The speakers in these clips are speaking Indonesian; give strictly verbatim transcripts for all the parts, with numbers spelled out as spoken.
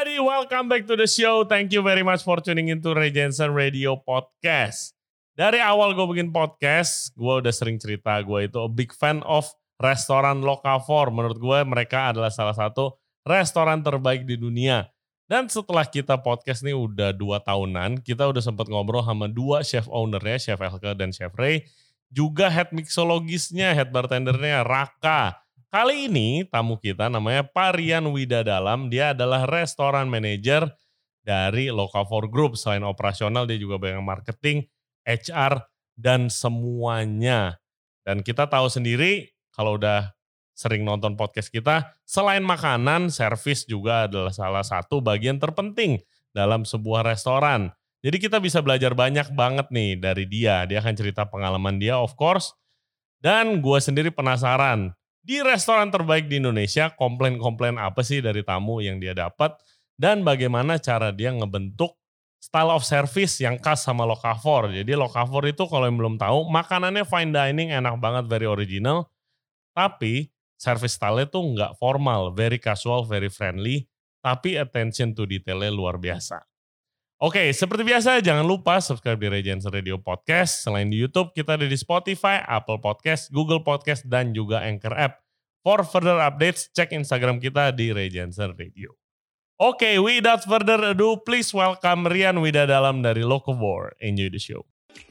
everybody, welcome back to the show. Thank you very much for tuning into Ray Jensen Radio Podcast. Dari awal gue bikin podcast, gue udah sering cerita gue itu a big fan of restoran Locavor. Menurut gue mereka adalah salah satu restoran terbaik di dunia. Dan setelah kita podcast nih udah dua tahunan, kita udah sempat ngobrol sama dua chef ownernya, Chef Elke dan Chef Ray. Juga head mixologisnya, head bartendernya Raka. Kali ini tamu kita namanya Pak Rian Widadalam. Dia adalah restoran manager dari Locavor Group. Selain operasional dia juga banyak marketing, H R, dan semuanya. Dan kita tahu sendiri kalau udah sering nonton podcast kita, selain makanan, servis juga adalah salah satu bagian terpenting dalam sebuah restoran. Jadi kita bisa belajar banyak banget nih dari dia. Dia akan cerita pengalaman dia of course. Dan gue sendiri penasaran. Di restoran terbaik di Indonesia, komplain-komplain apa sih dari tamu yang dia dapat dan bagaimana cara dia ngebentuk style of service yang khas sama Locavor. Jadi Locavor itu kalau yang belum tahu, makanannya fine dining, enak banget, very original. Tapi service style-nya tuh nggak formal, very casual, very friendly, tapi attention to detail-nya luar biasa. Oke, seperti biasa jangan lupa subscribe di Ray Jensen Radio Podcast. Selain di YouTube, kita ada di Spotify, Apple Podcast, Google Podcast, dan juga Anchor App. For further updates, cek Instagram kita di Ray Jensen Radio. Oke, without further ado, please welcome Rian Widadalam dari Locavor. Enjoy the show.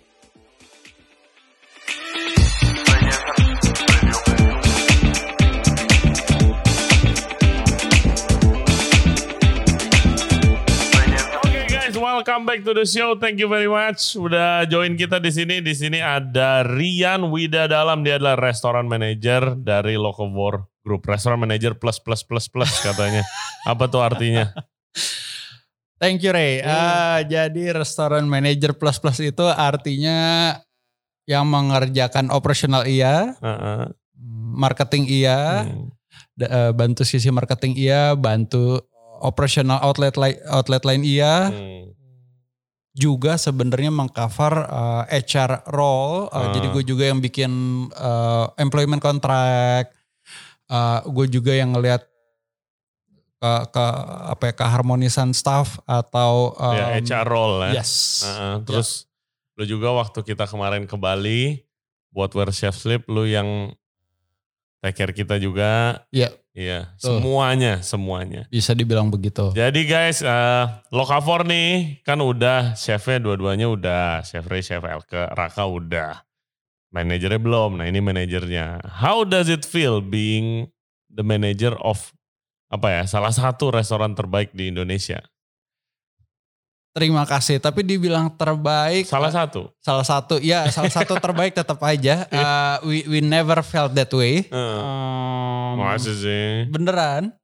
Welcome back to the show. Thank you very much. Udah join kita di sini. Di sini ada Rian Widadalam. Dia adalah restoran manager dari Locavor Group. Restoran manager plus plus plus plus katanya. Apa tuh artinya? Thank you Ray. Hmm. Uh, jadi restoran manager plus plus itu artinya yang mengerjakan operasional iya, uh-uh. marketing iya, hmm. uh, bantu sisi marketing iya, bantu operasional outlet li- outlet lain iya. Hmm. Juga sebenarnya mengcover uh, H R role, uh, uh. jadi gue juga yang bikin uh, employment contract, uh, gue juga yang ngelihat ke, ke apa ya, keharmonisan staff atau um, ya, H R role ya. Yes. Uh, terus yeah. Lu juga waktu kita kemarin ke Bali buat Where Chef Sleep, lu yang take care kita juga. Iya. Yeah. Iya, semuanya, semuanya. Bisa dibilang begitu. Jadi guys, uh, Locavor nih kan udah chefnya dua-duanya udah, Chef Ray, Chef Elke, Raka udah. Manajernya belum, nah ini manajernya. How does it feel being the manager of apa ya, salah satu restoran terbaik di Indonesia? Terima kasih, tapi dibilang terbaik. Salah satu? Salah satu, ya salah satu terbaik tetap aja. Uh, we we never felt that way. Uh, um, Masa sih? Beneran.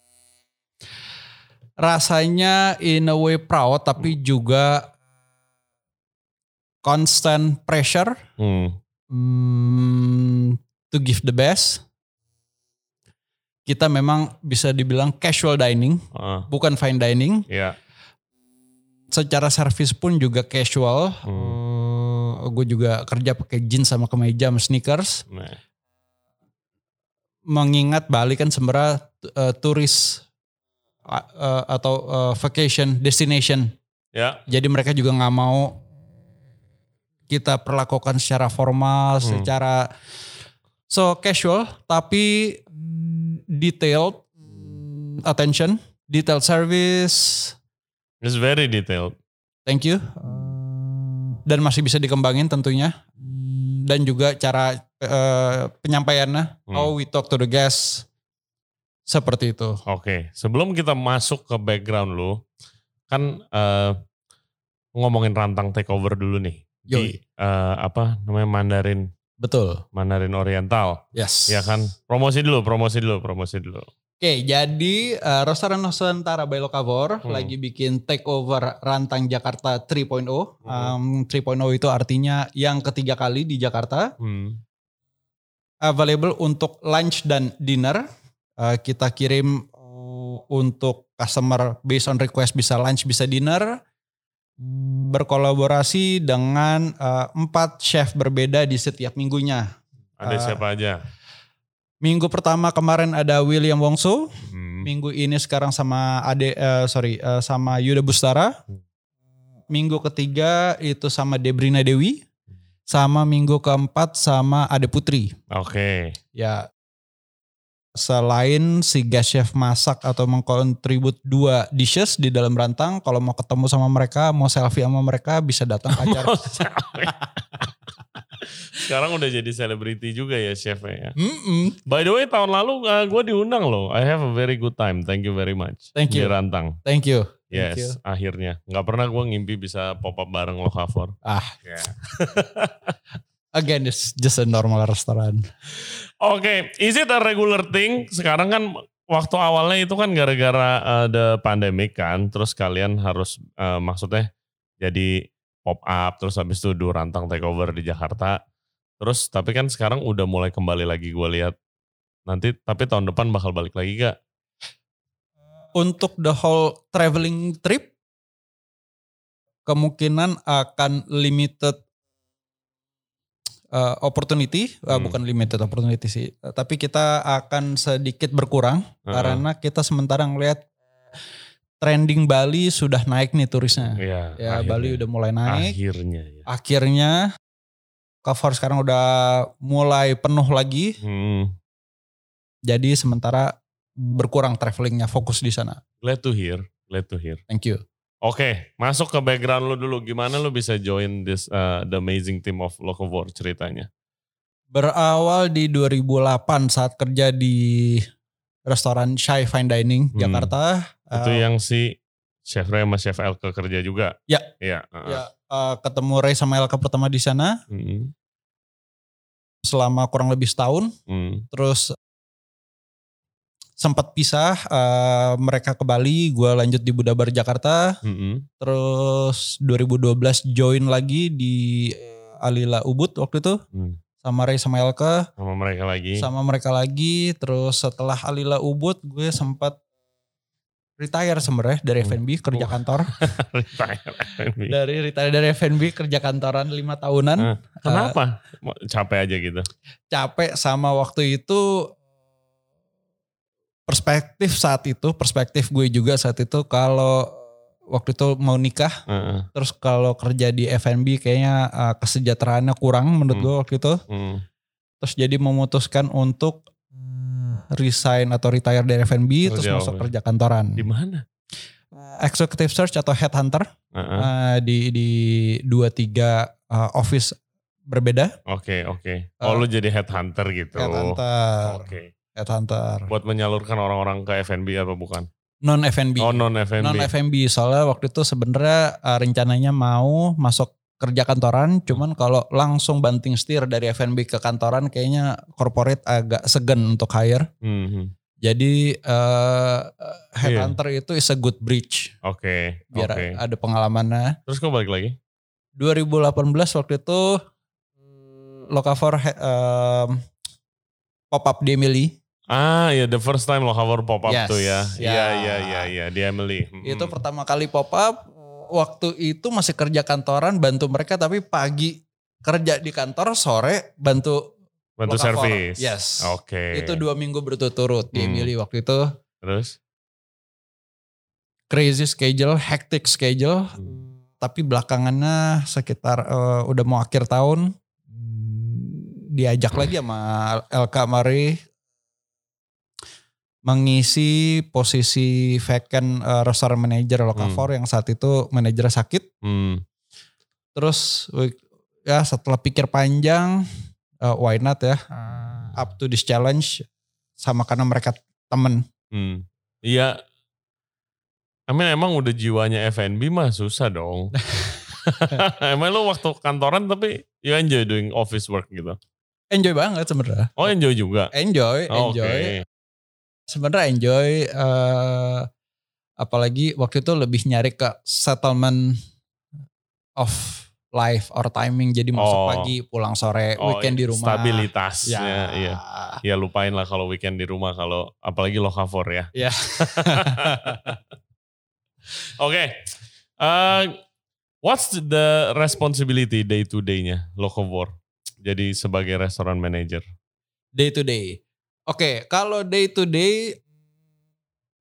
Rasanya in a way proud, tapi juga constant pressure hmm. um, to give the best. Kita memang bisa dibilang casual dining, uh. bukan fine dining. Iya. Yeah. Secara servis pun juga casual. Hmm. Uh, gue juga kerja pakai jeans sama kemeja sama sneakers. Nah. Mengingat Bali kan sebenarnya uh, turis uh, atau uh, vacation destination. Ya. Jadi mereka juga nggak mau kita perlakukan secara formal, hmm. secara so casual, tapi detailed attention, detailed service. It's very detailed. Thank you. Dan masih bisa dikembangin tentunya. Dan juga cara uh, penyampaiannya, hmm. how we talk to the guests. Seperti itu. Oke, okay. Sebelum kita masuk ke background lu, kan uh, ngomongin rantang takeover dulu nih. Di uh, apa namanya Mandarin. Betul. Mandarin Oriental. Yes. Ya kan, promosi dulu, promosi dulu, promosi dulu. Oke, jadi uh, Restoran Nusantara by Locavor hmm. lagi bikin takeover Rantang Jakarta tiga titik nol. Hmm. Um, tiga titik nol itu artinya yang ketiga kali di Jakarta. Hmm. Available untuk lunch dan dinner. Uh, kita kirim uh, untuk customer based on request bisa lunch, bisa dinner. Berkolaborasi dengan uh, empat chef berbeda di setiap minggunya. Ada uh, siapa aja? Minggu pertama kemarin ada William Wongso, hmm. Hmm. Minggu ini sekarang sama Ade, uh, sorry, uh, sama Yuda Bustara. Hmm. Minggu ketiga itu sama Debrina Dewi. Sama minggu keempat sama Ade Putri. Oke. Okay. Ya. Selain si guest chef masak atau mengkontribut dua dishes di dalam rantang, kalau mau ketemu sama mereka, mau selfie sama mereka, bisa datang ke acara. Sekarang udah jadi selebriti juga ya chefnya ya. Mm-mm. By the way tahun lalu uh, gue diundang loh. I have a very good time. Thank you very much. Thank you. Di Rantang. Thank you. Yes, Thank you. Akhirnya. Gak pernah gue ngimpi bisa pop up bareng Locavor. Ah. Yeah. Again, it's just a normal restaurant. Oke, okay. Is it a regular thing? Sekarang kan waktu awalnya itu kan gara-gara ada pandemic kan, terus kalian harus uh, maksudnya jadi pop up, terus habis itu do Rantang takeover di Jakarta. Terus tapi kan sekarang udah mulai kembali lagi gue lihat. Nanti tapi tahun depan bakal balik lagi gak? Untuk the whole traveling trip kemungkinan akan limited Uh, opportunity, uh, hmm. bukan limited opportunity sih, uh, tapi kita akan sedikit berkurang uh-huh. karena kita sementara ngelihat trending Bali sudah naik nih turisnya. Ya, ya Bali udah mulai naik. Akhirnya. Ya. Akhirnya, Locavor sekarang udah mulai penuh lagi. Hmm. Jadi sementara berkurang travelingnya, fokus di sana. Glad to hear, glad to hear. Thank you. Oke, okay, masuk ke background lu dulu. Gimana lu bisa join this uh, the amazing team of Locavor ceritanya? Berawal di dua ribu delapan saat kerja di restoran Shy Fine Dining hmm. Jakarta. Itu uh, yang si Chef Ray sama Chef Elke kerja juga? Ya. Ya, uh-uh. ya uh, ketemu Ray sama Elke pertama di sana. Hmm. Selama kurang lebih setahun. Hmm. Terus sempat pisah, uh, mereka ke Bali, gue lanjut di Budabar Jakarta. Mm-hmm. Terus dua ribu dua belas join lagi di Alila Ubud waktu itu. Mm. Sama Ray sama Elke. Sama mereka lagi. Sama mereka lagi. Terus setelah Alila Ubud gue sempat retire sebenarnya dari F and B, kerja kantor. Retire F and B. Dari retire dari F and B, kerja kantoran lima tahunan. Nah, kenapa? Uh, capek aja gitu? Capek sama waktu itu... Perspektif saat itu, perspektif gue juga saat itu kalau waktu itu mau nikah, uh-uh. terus kalau kerja di F and B kayaknya uh, kesejahteraannya kurang menurut hmm. gue waktu itu. Hmm. Terus jadi memutuskan untuk resign atau retire dari F and B, terus masuk ya. Kerja kantoran. Di mana? Executive search atau headhunter uh-uh. uh, di di dua tiga uh, office berbeda. Oke okay, oke. Okay. Oh uh, lu jadi headhunter gitu. Headhunter. Oke. Okay. Headhunter. Buat menyalurkan orang-orang ke F and B apa bukan? Non F and B. Oh non F and B. Non F and B soalnya waktu itu sebenarnya uh, rencananya mau masuk kerja kantoran, cuman kalau langsung banting setir dari F and B ke kantoran kayaknya corporate agak segan untuk hire. Mm-hmm. Jadi uh, headhunter yeah. itu is a good bridge. Oke. Okay. Biar okay. ada pengalamannya. Terus kok balik lagi? dua ribu delapan belas waktu itu Locavor um, pop up di Emily. Ah ya, the first time Locavor pop up yes, tuh ya. Iya iya iya iya ya, di Emily. Mm-hmm. Itu pertama kali pop up. Waktu itu masih kerja kantoran bantu mereka, tapi pagi kerja di kantor, sore bantu bantu servis. Yes. Oke. Okay. Itu dua minggu berturut-turut di hmm. Emily waktu itu. Terus? Crazy schedule, hectic schedule. Hmm. Tapi belakangannya sekitar uh, udah mau akhir tahun diajak lagi sama Elka Mari mengisi posisi vacant uh, restoran manager Locavor hmm. yang saat itu manajernya sakit. Hmm. Terus ya setelah pikir panjang, uh, why not ya, uh, up to this challenge, sama karena mereka temen. Hmm. Iya, I mean, emang udah jiwanya F and B mah susah dong. Emang lo waktu kantoran tapi you enjoy doing office work gitu? Enjoy banget sebenarnya. Oh enjoy juga? Enjoy, oh, enjoy. Okay. Sebenarnya enjoy, uh, apalagi waktu itu lebih nyari ke settlement of life or timing. Jadi masuk oh. pagi, pulang sore, oh, weekend di rumah. Stabilitasnya, ya. Iya. Ya lupain lah kalau weekend di rumah, kalau apalagi Locavor ya. Ya. Oke, okay. uh, what's the responsibility day to day-nya Locavor? Jadi sebagai restoran manager. Day to day. Oke, okay, kalau day to day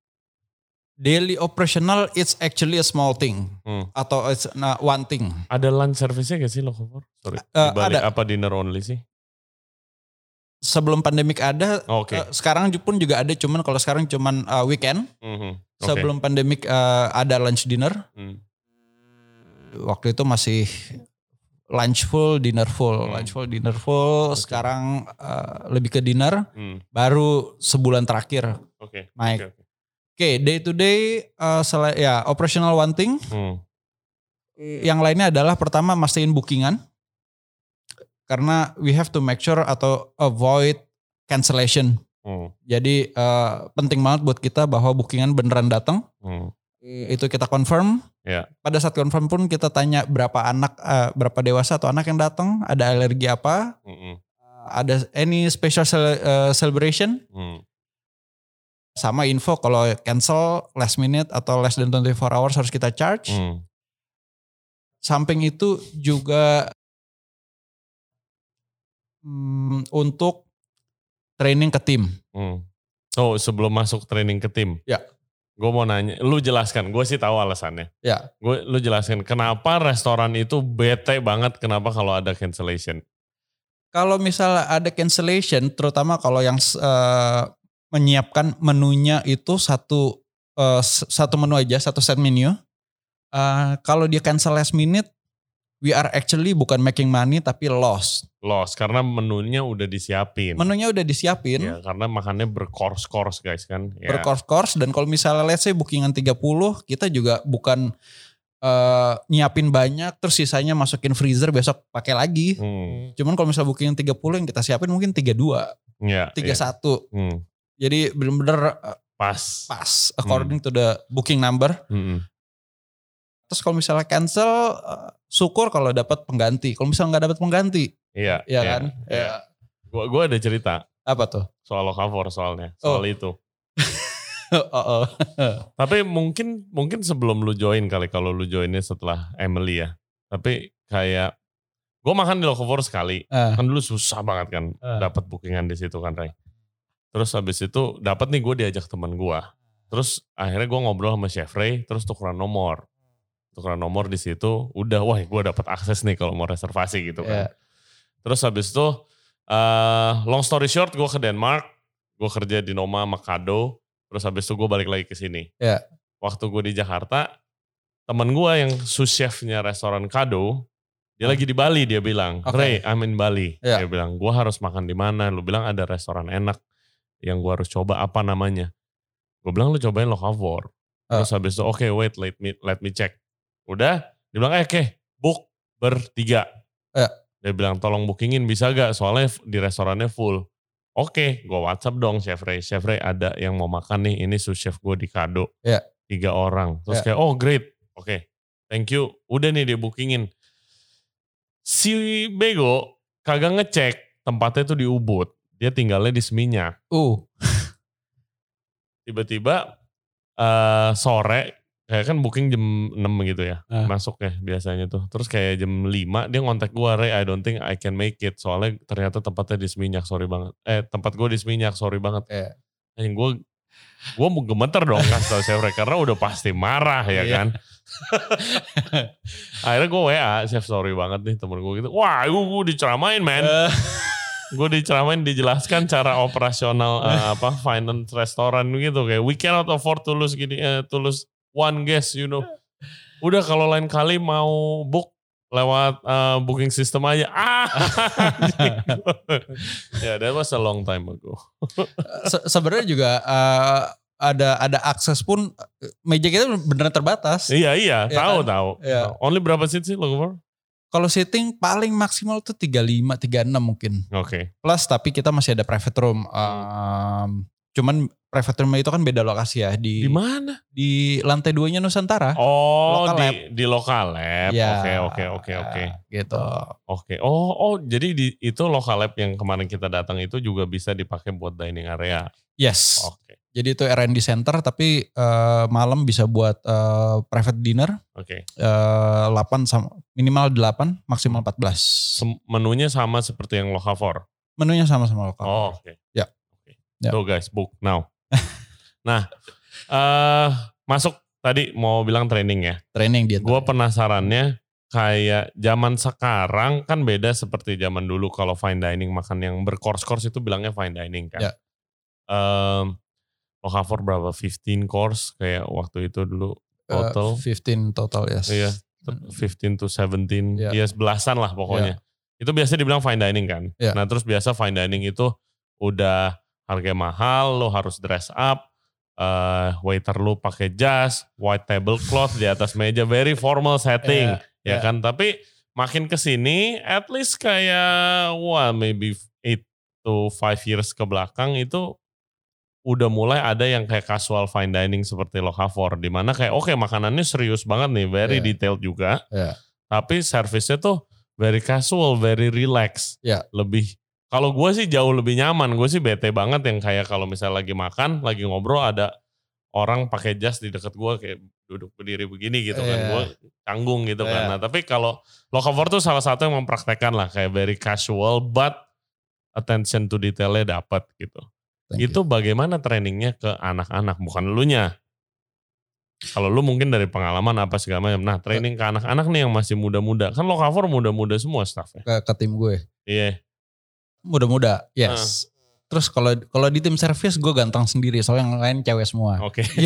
Daily operational it's actually a small thing hmm. atau it's not one thing. Ada lunch service-nya gak sih Locavor? Sorry. Uh, Dibalik ada. Apa dinner only sih? Sebelum pandemik ada, oh, okay. uh, sekarang pun juga ada, cuman kalau sekarang cuman uh, weekend. Mm-hmm. Okay. Sebelum pandemik uh, ada lunch dinner. Mm. Waktu itu masih lunch full, dinner full, mm. lunch full, dinner full. Okay. Sekarang uh, lebih ke dinner. Mm. Baru sebulan terakhir okay. naik. Oke, okay, okay. okay, day to day, uh, sel- ya operational one thing. Mm. Yang lainnya adalah pertama mastiin bookingan. Karena we have to make sure atau avoid cancellation. Hmm. Jadi uh, penting banget buat kita bahwa bookingan beneran datang. Hmm. Itu kita confirm. Yeah. Pada saat confirm pun kita tanya berapa anak, uh, berapa dewasa atau anak yang datang, ada alergi apa, hmm. uh, ada any special cel- uh, celebration. Hmm. Sama info kalau cancel last minute atau less than twenty-four hours harus kita charge. Hmm. Samping itu juga Hmm, untuk training ke tim. Hmm. Oh, sebelum masuk training ke tim. Ya. Gue mau nanya, lu jelaskan. Gue sih tahu alasannya. Ya. Gue, lu jelaskan kenapa restoran itu bete banget. Kenapa kalau ada cancellation? Kalau misalnya ada cancellation, terutama kalau yang uh, menyiapkan menunya itu satu uh, satu menu aja, satu set menu. Uh, kalau dia cancel last minute, we are actually bukan making money tapi loss. Loss karena menunya udah disiapin. Menunya udah disiapin. Ya, karena makannya bercourse-course guys kan. Ya. Bercourse-course dan kalau misalnya let's say bookingan tiga puluh, kita juga bukan uh, nyiapin banyak terus sisanya masukin freezer besok pakai lagi. Hmm. Cuman kalau misalnya bookingan tiga puluh yang kita siapin mungkin tiga puluh dua, ya, tiga puluh satu. Ya. Hmm. Jadi benar-benar uh, pas. Pas according hmm. to the booking number. Hmm. Terus kalau misalnya cancel, uh, syukur kalau dapat pengganti. Kalau misalnya nggak dapat pengganti, iya, ya iya kan. Iya. Ya. Gua, gua ada cerita. Apa tuh? Soal Locavor soalnya, soal oh. itu. oh, oh. Tapi mungkin mungkin sebelum lu join kali kalau lu joinnya setelah Emily ya. Tapi kayak, gue makan di Locavor sekali. Uh. Kan dulu susah banget kan, uh. dapat bookingan di situ kan, Ray. Terus habis itu dapat nih gue diajak teman gue. Terus akhirnya gue ngobrol sama Chef Ray, terus tukeran nomor. Tukeran nomor di situ, udah wah gue dapat akses nih kalau mau reservasi gitu kan. Yeah. Terus habis itu, uh, long story short gue ke Denmark, gue kerja di Noma Makado, terus habis itu gue balik lagi ke sini. Yeah. Waktu gue di Jakarta, temen gue yang sous chefnya restoran Kado, dia hmm. lagi di Bali, dia bilang, okay. Ray, I'm in Bali. Yeah. Dia bilang, gue harus makan di mana? Lu bilang ada restoran enak yang gue harus coba, apa namanya? Gue bilang lu cobain Locavor. Terus uh. habis itu, oke okay, wait, let me let me check. Udah, dia bilang, eh oke, okay, book bertiga. Ya. Dia bilang, tolong bookingin bisa gak? Soalnya di restorannya full. Oke, okay, gue WhatsApp dong Chef Ray. Chef Ray ada yang mau makan nih, ini sous chef gue di Kado. Ya. Tiga orang. Terus ya. Kayak, oh great. Oke, okay, thank you. Udah nih dia bookingin. Si Bego kagak ngecek tempatnya tuh di Ubud. Dia tinggalnya di Seminyak. Uh. Tiba-tiba uh, sore, kayak kan booking jam enam gitu ya, uh. masuk ya biasanya tuh. Terus kayak jam lima dia ngontak gue, Ray, I don't think I can make it. Soalnya ternyata tempatnya di Seminyak, sorry banget. Eh tempat gue di Seminyak, sorry banget. Yeah. Yang gue, gue mau gemeter dong kasih tau Chef Ray, karena udah pasti marah ya kan. Akhirnya gue W A, Chef sorry banget nih temen gue gitu. Wah gue, gue diceramain man. Uh. Gue diceramain, dijelaskan cara operasional uh, apa finance restoran gitu. Kayak we cannot afford to lose gini, uh, to lose one guest, you know. Udah kalau lain kali mau book lewat uh, booking system aja. Ah, ya, yeah, that was a long time ago. Se- Sebenarnya juga uh, ada ada akses pun meja kita beneran terbatas. Iya iya, ya tahu kan? tahu. Ya. Only berapa seat sih Locavor? Kalau sitting paling maksimal tuh tiga puluh lima, tiga puluh enam mungkin. Oke. Okay. Plus tapi kita masih ada private room. Um, cuman private room itu kan beda lokasi ya di di mana? Di lantai duanya Nusantara. Oh, local di lab. Di lokal lab. Ya, oke oke oke oke. Gitu. Oke. Okay. Oh oh jadi di itu lokal lab yang kemarin kita datang itu juga bisa dipakai buat dining area. Yes. Oke. Okay. Jadi itu R and D center tapi uh, malam bisa buat uh, private dinner. Oke. Okay. Uh, delapan sama minimal delapan, maksimal empat belas. Menunya sama seperti yang Locavor. Menunya sama-sama Locavor. Oh, oke. Okay. Ya. Okay. So guys, book now. Nah, uh, masuk tadi mau bilang training ya. Training dia. Gue penasarannya kayak zaman sekarang kan beda seperti zaman dulu kalau fine dining makan yang bercourse-course itu bilangnya fine dining kan. Ya. Um, lo cover berapa? fifteen course kayak waktu itu dulu total. Uh, fifteen total yes. Iya, fifteen to seventeen. Ya. Ya sebelasan lah pokoknya. Ya. Itu biasa dibilang fine dining kan. Ya. Nah terus biasa fine dining itu udah harga mahal, lo harus dress up. Uh, waiter lu pakai jas, white tablecloth di atas meja, very formal setting, yeah, ya yeah. kan. Tapi makin kesini, at least kayak wah maybe eight to five years ke belakang itu udah mulai ada yang kayak casual fine dining seperti Locavor, di mana kayak oke okay, makanannya serius banget nih, very yeah. detailed juga, yeah. tapi servisnya tuh very casual, very relax, yeah. lebih. Kalau gue sih jauh lebih nyaman, gue sih bete banget yang kayak kalau misalnya lagi makan, lagi ngobrol ada orang pakai jas di deket gue kayak duduk berdiri begini gitu kan, yeah. gue canggung gitu yeah. kan. Nah tapi kalau Locavor tuh salah satu yang mempraktekkan lah kayak very casual but attention to detailnya dapat gitu. Thank itu you. Bagaimana trainingnya ke anak-anak, bukan elunya. Kalau lu mungkin dari pengalaman apa segala macam. Nah training ke anak-anak nih yang masih muda-muda, kan Locavor muda-muda semua staffnya. Ke, ke tim gue. Iya. Yeah. Muda-muda, yes. Uh. Terus kalau kalau di tim service gue ganteng sendiri, soalnya yang lain cewek semua. Oke. Okay.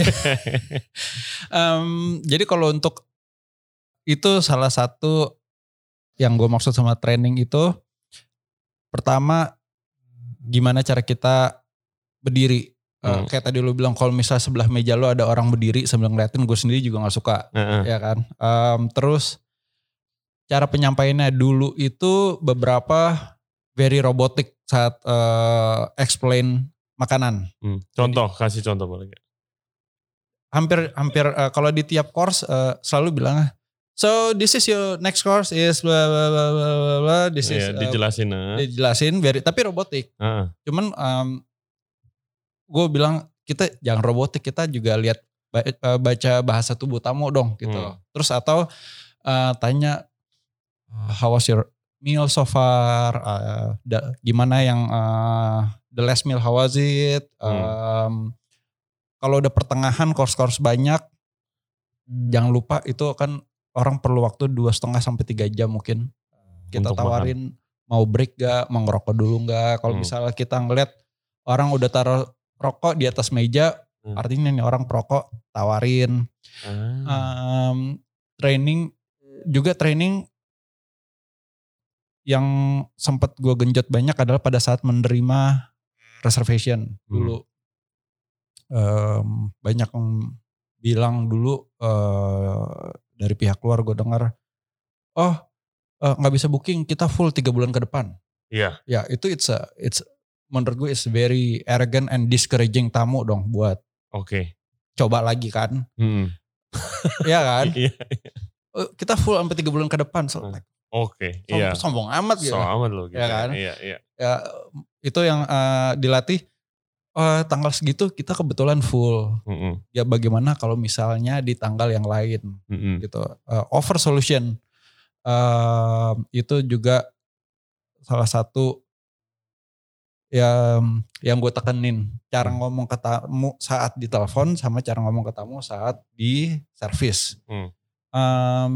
um, jadi kalau untuk itu salah satu yang gue maksud sama training itu, pertama gimana cara kita berdiri. Hmm. Uh, kayak tadi lu bilang kalau misalnya sebelah meja lu ada orang berdiri sambil ngeliatin, gue sendiri juga nggak suka, uh-uh. ya kan. Um, terus cara penyampaiannya dulu itu beberapa very robotic saat uh, explain makanan. Hmm. Contoh, jadi, kasih contoh boleh gak? Hampir hampir uh, kalau di tiap course uh, selalu bilang, so this is your next course is blah blah blah blah blah. This yeah, is uh, dijelasin, uh. dijelasin, very, tapi robotik. Uh. Cuman um, gue bilang kita jangan robotik, kita juga lihat baca bahasa tubuh tamu dong gitu. Hmm. Terus atau uh, tanya how was your meal so far, uh, da, gimana yang uh, the last meal, how was it, um, hmm. kalau udah pertengahan course-course banyak, jangan lupa itu kan orang perlu waktu dua setengah sampai tiga jam mungkin, kita untuk tawarin makan. Mau break gak, mau ngerokok dulu gak, kalau hmm. misalnya kita ngeliat orang udah taruh rokok di atas meja, hmm. artinya nih orang perokok, tawarin, hmm. um, training, juga training, yang sempat gue genjot banyak adalah pada saat menerima reservation dulu. Hmm. Um, banyak yang bilang dulu uh, dari pihak luar gue dengar, oh uh, gak bisa booking, kita full tiga bulan ke depan. Iya. Yeah. Ya itu it's a, it's menurut gue it's very arrogant and discouraging tamu dong buat. Oke. Okay. Coba lagi kan. Hmm. Iya kan. Iya. Kita full sampai tiga bulan ke depan. So, like, Oke, okay, iya. Sombong amat gitu. Sombong amat loh gitu. Ya kan? Iya, iya. Ya, itu yang uh, dilatih, uh, tanggal segitu kita kebetulan full. Mm-hmm. Ya bagaimana kalau misalnya di tanggal yang lain mm-hmm. gitu. Uh, offer solution. Uh, itu juga salah satu yang, yang gue tekenin. Cara mm. ngomong ke tamu saat di telepon sama cara ngomong ke tamu saat di service. Mm. Um,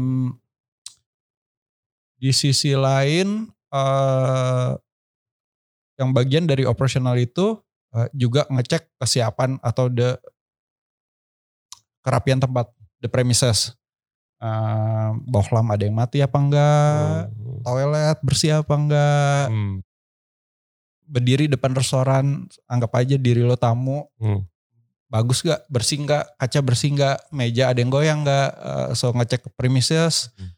Di sisi lain, uh, yang bagian dari operasional itu uh, juga ngecek kesiapan atau the kerapian tempat, the premises. Uh, bohlam ada yang mati apa enggak, hmm. toilet bersih apa enggak, hmm. berdiri depan restoran, anggap aja diri lo tamu, hmm. bagus gak, bersih gak, kaca bersih gak, meja ada yang goyang gak, uh, so ngecek premises. Hmm.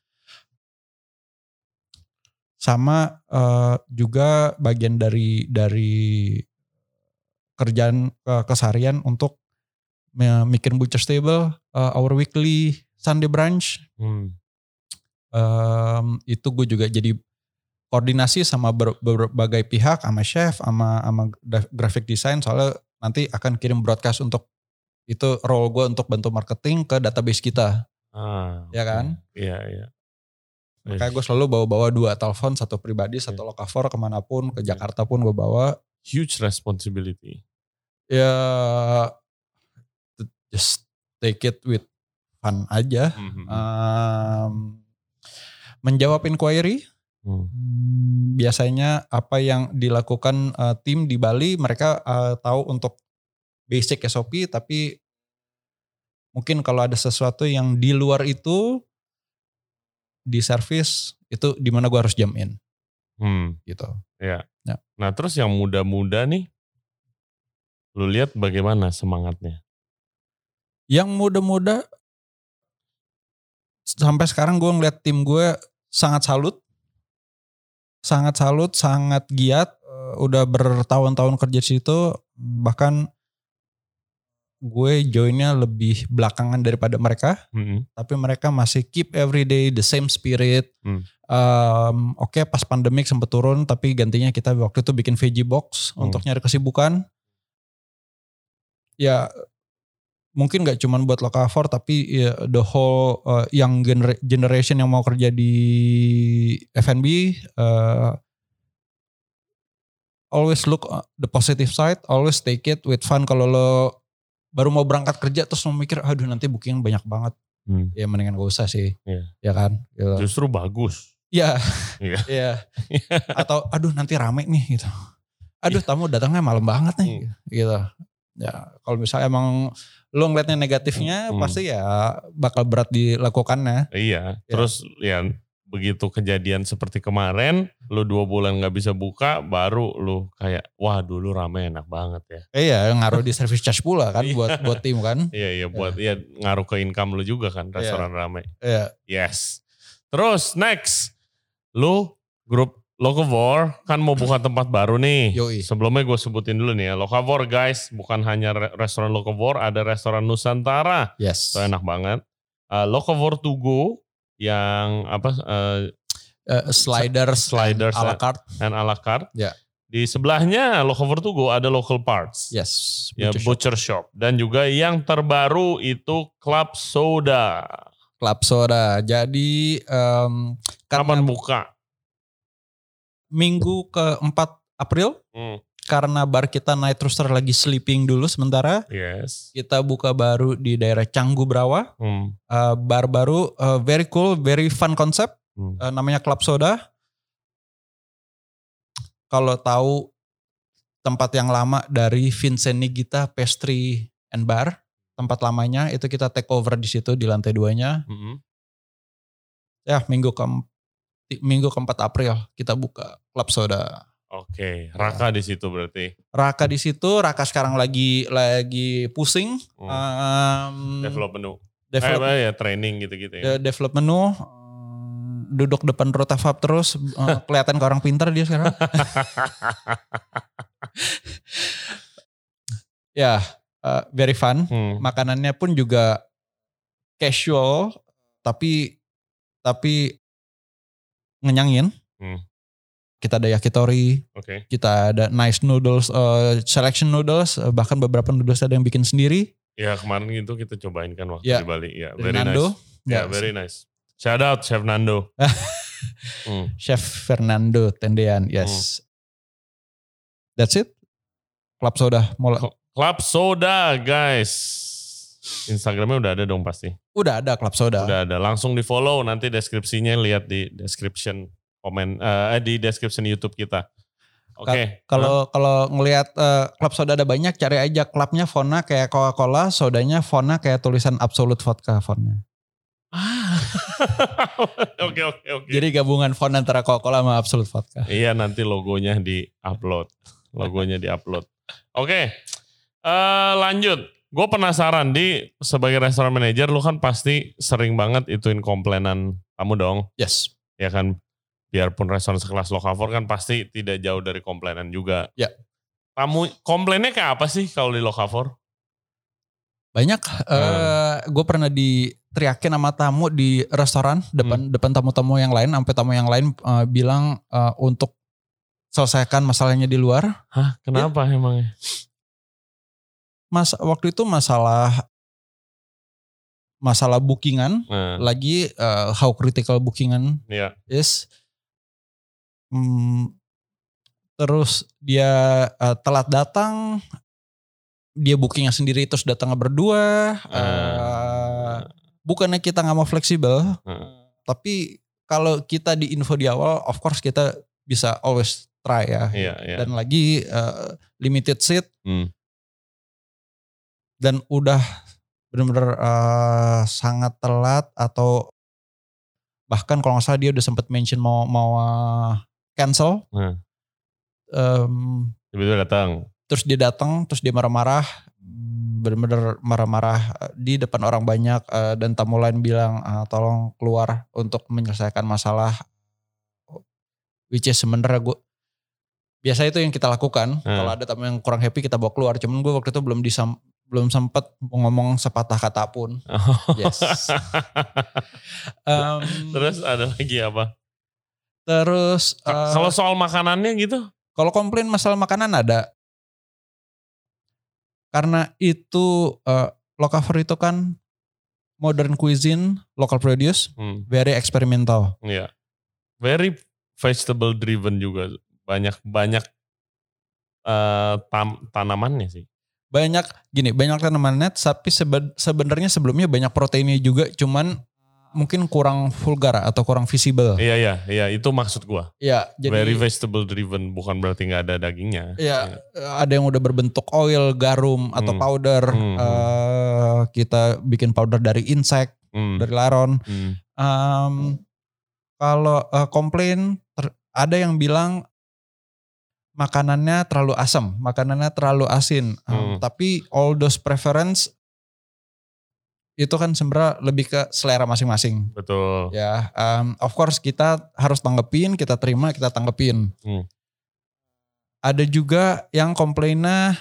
Sama uh, juga bagian dari dari kerjaan uh, keseharian untuk bikin butcher stable, uh, our weekly Sunday brunch. Hmm. Um, itu gue juga jadi koordinasi sama ber, berbagai pihak, sama chef, sama sama graphic design, soalnya nanti akan kirim broadcast untuk itu role gue untuk bantu marketing ke database kita, ah, ya kan? Iya iya. Makanya gue selalu bawa-bawa dua telepon, satu pribadi, satu Locavor kemanapun, ke Jakarta pun gue bawa. Huge responsibility. Ya, just take it with fun aja. Mm-hmm. Um, menjawab inquiry. Hmm. Biasanya apa yang dilakukan uh, tim di Bali, mereka uh, tahu untuk basic S O P, tapi mungkin kalau ada sesuatu yang di luar itu di service itu di mana gue harus jump in. Hmm. Gitu. Ya. ya. Nah, terus yang muda-muda nih, lu lihat bagaimana semangatnya? Yang muda-muda sampai sekarang gue ngeliat tim gue sangat salut. Sangat salut, sangat giat. Udah bertahun-tahun kerja di situ, bahkan gue joinnya lebih belakangan daripada mereka, mm-hmm. tapi mereka masih keep every day the same spirit. Mm. Um, Oke, okay, pas pandemik sempat turun, tapi gantinya kita waktu itu bikin veggie box mm. untuk nyari kesibukan. Ya mungkin gak cuma buat Locavor, tapi ya, the whole uh, young gener- generation yang mau kerja di F and B, uh, always look the positive side, always take it with fun. Kalau lo baru mau berangkat kerja terus mau mikir, aduh nanti booking banyak banget. Hmm. Ya mendingan gak usah sih. Yeah. Ya kan. Gitu. Justru bagus. Iya. Iya. Yeah. Atau aduh nanti rame nih gitu. Aduh yeah. tamu datangnya malam banget nih. Hmm. Gitu. Ya kalau misalnya emang lo ngeliatnya negatifnya hmm. pasti ya bakal berat dilakukannya. Iya. Ya. Terus ya begitu kejadian seperti kemarin, lu dua bulan gak bisa buka, baru lu kayak, wah dulu rame enak banget ya. Iya, ngaruh di service charge pula kan buat buat tim kan. Iya, iya buat ya. ya ngaruh ke income lu juga kan, restoran iya. rame. Iya. Yes. Terus next, lu grup Locavor kan mau buka tempat baru nih. Yoi. Sebelumnya gue sebutin dulu nih ya, Locavor guys, bukan hanya re- restoran Locavor, ada restoran Nusantara. Yes. Itu enak banget. Uh, Locavor to go. Yang apa uh, uh, sliders, sliders and a la carte, and a la carte. Ya. Di sebelahnya Locavor to go ada local parts. Yes. Butcher, ya, butcher shop. shop. Dan juga yang terbaru itu Club Soda. Club Soda. Jadi um, kapan buka? Minggu keempat April. Hmm. Karena bar kita Night Rooster lagi sleeping dulu sementara. Yes. Kita buka baru di daerah Canggu Brawa. Hmm. Uh, bar baru, uh, very cool, very fun concept. Hmm. Uh, namanya Club Soda. Kalau tahu tempat yang lama dari Vincent Nigita Pastry and Bar, tempat lamanya itu kita take over di situ di lantai duanya. Hmm. Ya minggu ke minggu keempat April kita buka Club Soda. Oke, Raka di situ berarti. Raka di situ, Raka sekarang lagi lagi pusing. Hmm. Um, develop menu. Develop, eh, ya training gitu-gitu ya. Develop menu, duduk depan Rotafab terus, uh, kelihatan ke orang pintar dia sekarang. Ya, uh, very fun. Hmm. Makanannya pun juga casual, tapi tapi ngenyangin. Hmm. Kita ada yakitori, okay. Kita ada nice noodles, uh, selection noodles, uh, bahkan beberapa noodles ada yang bikin sendiri. Ya kemarin itu kita cobain kan waktu ya. Di Bali. Ya, very Nando. nice. Ya, yeah, very nice. Shout out Chef Nando. hmm. Chef Fernando Tendean, yes. Hmm. That's it. Club Soda. Mulai. Club Soda guys. Instagramnya udah ada dong pasti. Udah ada Club Soda. Udah ada. Langsung di follow, nanti deskripsinya lihat di description. Komen uh, di description YouTube kita. Oke. Okay. Kalau huh? kalau ngelihat uh, Club Soda ada banyak, cari aja klubnya fontnya kayak Coca-Cola, sodanya fontnya kayak tulisan Absolute Vodka fontnya. Ah. Oke oke oke. Jadi gabungan font antara Coca-Cola sama Absolute Vodka. Iya, nanti logonya di-upload. Logonya di-upload. Oke. Okay. Uh, lanjut. Gue penasaran di sebagai restoran manager lu kan pasti sering banget ituin komplainan kamu dong. Yes. Ya kan. Biarpun restoran sekelas Locavor kan pasti tidak jauh dari komplainan juga. Ya. Kamu komplainnya kayak apa sih kalau di Locavor? Banyak. Hmm. Uh, gue pernah diteriakin sama tamu di restoran depan hmm. depan tamu-tamu yang lain, sampai tamu yang lain uh, bilang uh, untuk selesaikan masalahnya di luar. Hah? Kenapa ya. Emangnya? Mas waktu itu masalah masalah bookingan, hmm. lagi uh, how critical bookingan yeah. is. Hmm, terus dia uh, telat datang, dia bookingnya sendiri terus datangnya berdua, hmm. uh, bukannya kita nggak mau fleksibel, Hmm. tapi kalau kita di info di awal, of course kita bisa always try ya. Iya, iya. Dan lagi uh, limited seat Hmm. dan udah benar-benar uh, sangat telat atau bahkan kalau nggak salah dia udah sempat mention mau mau uh, cancel. Hmm. Um, Tiba-tiba datang. Terus dia datang, terus dia marah-marah, benar-benar marah-marah di depan orang banyak uh, dan tamu lain bilang uh, tolong keluar untuk menyelesaikan masalah. Which is sebenarnya gue biasa itu yang kita lakukan. Hmm. Kalau ada tamu yang kurang happy kita bawa keluar. Cuman gue waktu itu belum disam, belum sempat ngomong sepatah kata pun. Oh. Yes. um, Terus ada lagi apa? Terus uh, kalau soal makanannya gitu? Kalau komplain masalah makanan ada. Karena itu uh, Locavor itu kan modern cuisine, local produce, hmm. very experimental. Iya. Yeah. Very vegetable driven juga. Banyak banyak uh, tam, tanamannya sih. Banyak gini, banyak tanamannya tapi sebe, sebenarnya sebelumnya banyak proteinnya juga, cuman mungkin kurang vulgar atau kurang visible. Iya iya iya itu maksud gua. Iya, jadi very vegetable driven, bukan berarti nggak ada dagingnya. Iya, ya. Ada yang udah berbentuk oil, garum atau hmm. powder. Hmm. Uh, kita bikin powder dari insect, hmm. dari laron. Hmm. Um, kalau uh, komplain ter, ada yang bilang makanannya terlalu asam, makanannya terlalu asin. Um, hmm. Tapi all those preference itu kan sebenarnya lebih ke selera masing-masing. Betul. Ya, um, of course kita harus tanggepin, kita terima, kita tanggepin. Hmm. Ada juga yang komplainnya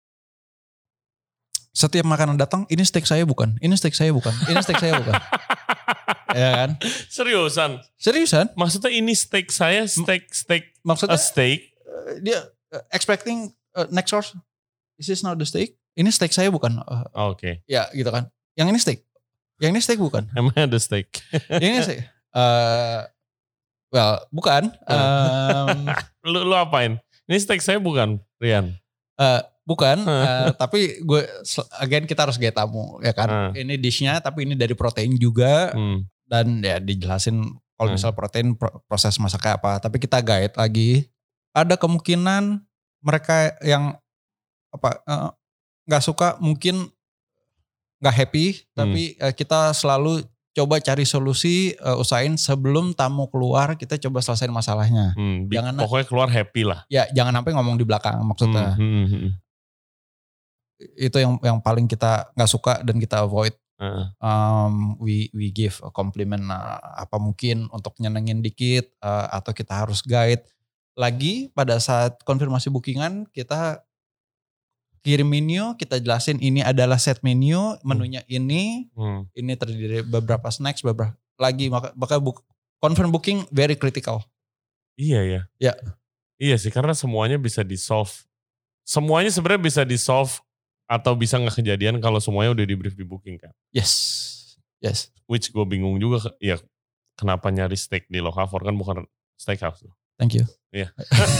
setiap makanan datang, ini steak saya bukan, ini steak saya bukan, ini steak saya bukan. Ya kan? Seriusan? Seriusan? Maksudnya ini steak saya, steak, steak, maksudnya a steak? Uh, dia uh, expecting uh, next source, is this not the steak? Ini steak saya bukan. Uh, Oke. Okay. Ya gitu kan. Yang ini steak, yang ini steak bukan. Emang ada steak? Yang ini steak. Uh, well, bukan. Um, lu, lu apain? Ini steak saya bukan, Rian? Uh, bukan, uh, tapi gue, again kita harus gaya tamu, ya kan. Uh. Ini dishnya, tapi ini dari protein juga. Hmm. Dan ya dijelasin kalau hmm. misal protein proses masaknya apa. Tapi kita guide lagi. Ada kemungkinan mereka yang apa nggak uh, suka mungkin nggak happy, hmm. tapi uh, kita selalu coba cari solusi, uh, usahain sebelum tamu keluar kita coba selesaiin masalahnya. Hmm, jangan pokoknya keluar happy lah. Ya jangan sampai ngomong di belakang maksudnya. Hmm, hmm, hmm. Itu yang yang paling kita nggak suka dan kita avoid. Uh. Um, we we give a compliment uh, apa mungkin untuk nyenengin dikit uh, atau kita harus guide. Lagi pada saat konfirmasi bookingan kita kirim menu, kita jelasin ini adalah set menu, menunya ini, hmm. ini terdiri beberapa snacks, beberapa lagi, maka maka book, confirm booking very critical. Iya ya. Ya. Iya sih, karena semuanya bisa di solve. Semuanya sebenarnya bisa di solve atau bisa nggak kejadian kalau semuanya udah di brief di booking kan. Yes, yes. Which gue bingung juga, ya kenapa nyari steak di Locavor kan bukan steakhouse. Thank you. Iya.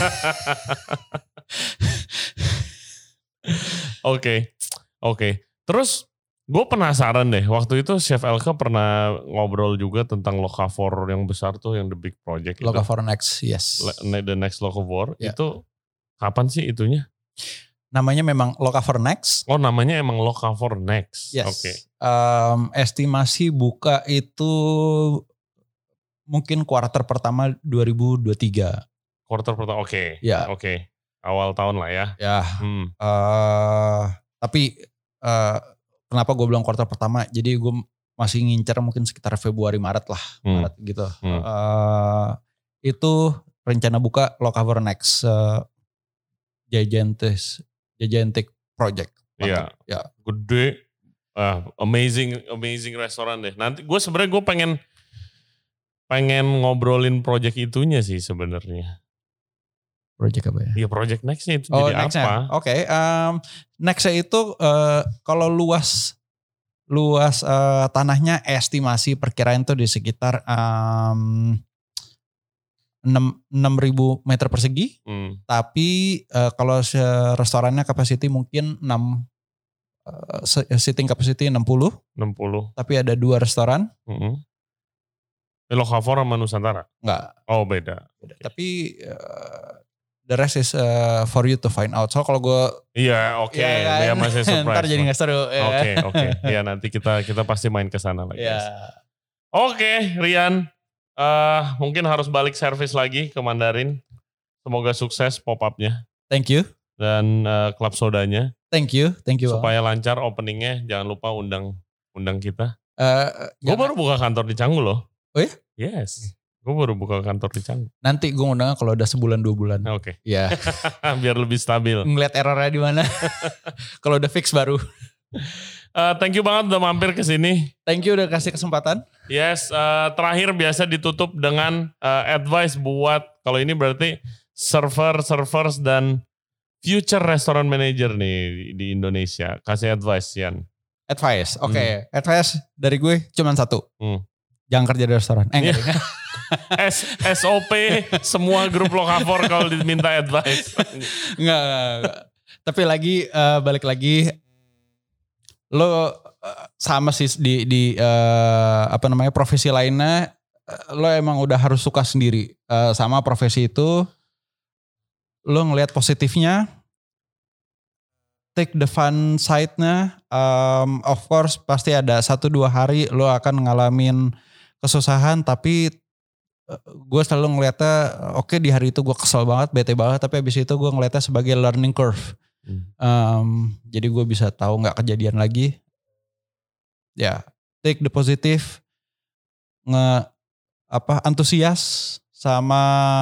Oke, oke. Terus gue penasaran deh, waktu itu Chef Elke pernah ngobrol juga tentang Locavor yang besar tuh, yang the big project. Locavor Next, yes. The Next Locavor, yeah. Itu kapan sih itunya? Namanya memang Locavor Next. Oh namanya emang Locavor Next, yes. Oke. Okay. Um, estimasi buka itu mungkin kuarter pertama dua ribu dua puluh tiga. Kuarter pertama, oke. Okay. Ya. Oke. Okay. Awal tahun lah ya. Ya. Hmm. Uh, tapi uh, kenapa gue bilang kuartal pertama? Jadi gue masih ngincer mungkin sekitar Februari Maret lah, hmm. Maret gitu. Hmm. Uh, itu rencana buka Locavor Next uh, gigantic gigantic project. Iya. Ya. Gede, uh, amazing amazing restoran deh. Nanti gue sebenarnya gue pengen pengen ngobrolin project itunya sih sebenarnya. Project apa ya? Iya project nextnya itu oh, jadi next apa? Oke, okay, um, nextnya itu uh, kalau luas luas uh, tanahnya estimasi perkiraan itu di sekitar um, enam ribu meter persegi. Hmm. Tapi uh, kalau restorannya capacity mungkin enam sitting capacity enam puluh. enam puluh. Tapi ada dua restoran. Mm-hmm. Locavor sama Nusantara? Enggak. Oh beda. beda. Tapi uh, the rest is uh, for you to find out. So kalau gue... Iya oke, okay. ya, kan? Ya masih surprise. Ntar jadi gak seru. Oke ya. oke, okay, okay. Ya nanti kita kita pasti main ke sana lagi. Ya. Oke okay, Rian, uh, mungkin harus balik servis lagi ke Mandarin. Semoga sukses pop-up-nya. Thank you. Dan uh, Club Sodanya. Thank you, thank you. Supaya lancar openingnya, jangan lupa undang undang kita. Uh, gue baru buka kantor di Canggu loh. Oh ya? Yes. Gue baru buka kantor di Canggu. Nanti gue undang kalau udah sebulan dua bulan. Oke. Okay. Ya. Biar lebih stabil. Ngeliat errornya di mana. Kalau udah fix baru. Uh, thank you banget udah mampir ke sini. Thank you udah kasih kesempatan. Yes. Uh, terakhir biasa ditutup dengan uh, advice buat kalau ini berarti server, servers dan future restaurant manager nih di Indonesia. Kasih advice Yan. Advice, oke. Okay. Hmm. Advice dari gue cuma satu. Hmm. Jangan kerja di restoran. Eh, yeah. S, S O P semua grup Locavor kalau diminta advice. Enggak, enggak, enggak. Tapi lagi uh, balik lagi lo uh, sama sih di di uh, apa namanya profesi lainnya uh, lo emang udah harus suka sendiri uh, sama profesi itu. Lo ngelihat positifnya, take the fun side-nya. Um, of course pasti ada satu dua hari lo akan ngalamin kesusahan, tapi gue selalu ngeliatnya oke okay, di hari itu gue kesel banget, bete banget, tapi abis itu gue ngeliatnya sebagai learning curve. Hmm. Um, jadi gue bisa tahu nggak kejadian lagi. Ya, take the positive, nge apa antusias sama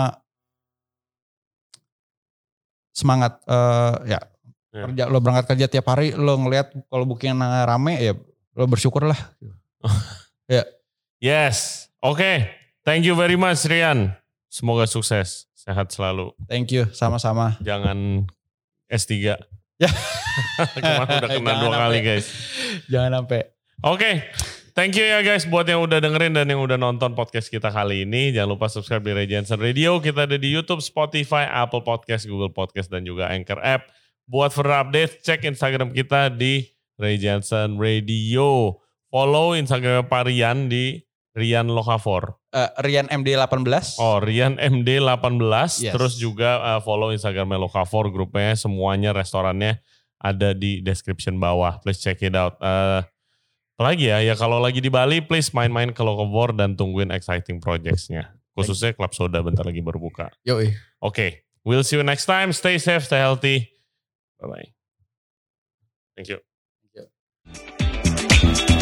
semangat. Uh, ya, yeah. Kerja lo berangkat kerja tiap hari, lo ngeliat kalau booking rame ya lo bersyukur lah. Ya. Yeah. Yes, oke. Okay. Thank you very much Rian. Semoga sukses, sehat selalu. Thank you, sama-sama. Jangan S tiga. Ya. Kemarin udah kena dua kali guys. Jangan sampai. Oke, okay. Thank you ya guys buat yang udah dengerin dan yang udah nonton podcast kita kali ini. Jangan lupa subscribe di Ray Jensen Radio. Kita ada di YouTube, Spotify, Apple Podcast, Google Podcast, dan juga Anchor App. Buat further update, cek Instagram kita di Ray Jensen Radio. Follow Instagram Pak Rian di Rian Locavor. Uh, Rian M D delapan belas. Oh, Rian M D delapan belas. Yes. Terus juga uh, follow Instagramnya Locavor, grupnya semuanya, restorannya ada di description bawah. Please check it out. Uh, apalagi ya, ya kalau lagi di Bali, please main-main ke Locavor dan tungguin exciting projects-nya. Khususnya Club Soda bentar lagi baru buka. Yoi. Oke, okay. We'll see you next time. Stay safe, stay healthy. Bye-bye. Thank you. Thank you.